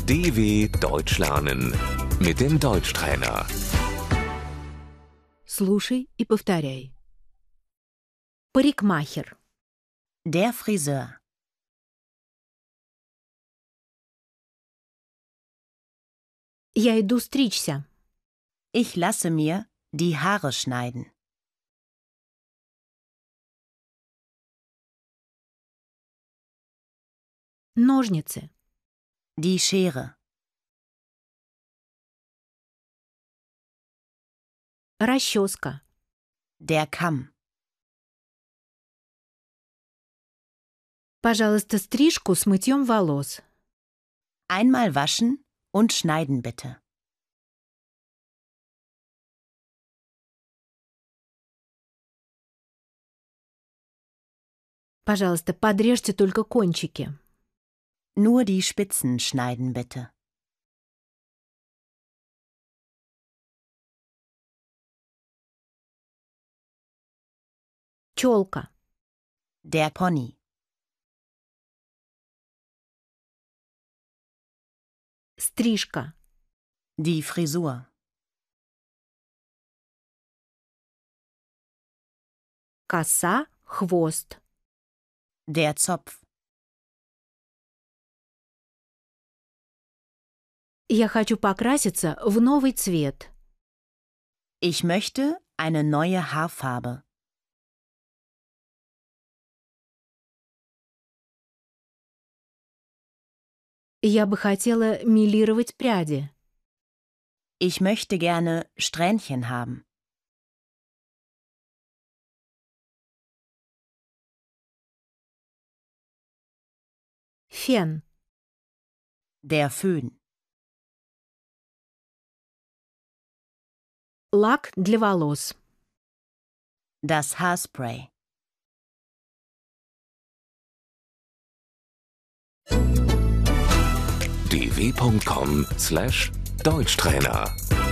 DW Deutsch lernen mit dem Deutschtrainer. Слушай и повторяй. Парикмахер. Der Friseur. Я иду стричься. Ich lasse mir die Haare schneiden. Ножницы. Die Schere. Расческа. Der Kamm. Пожалуйста, стрижку с мытьем волос. Einmal waschen und schneiden bitte. Пожалуйста, подрежьте только кончики. Nur die Spitzen schneiden bitte. Челка. Der Pony. Стрижка. Die Frisur. Коса, хвост. Der Zopf. Я хочу покраситься в новый цвет. Ich möchte eine neue Haarfarbe. Я бы хотела мелировать пряди. Ich möchte gerne Strähnchen haben. Фен. Der Föhn. Лак для волос. Das Haarspray. dw.com/Deutschtrainer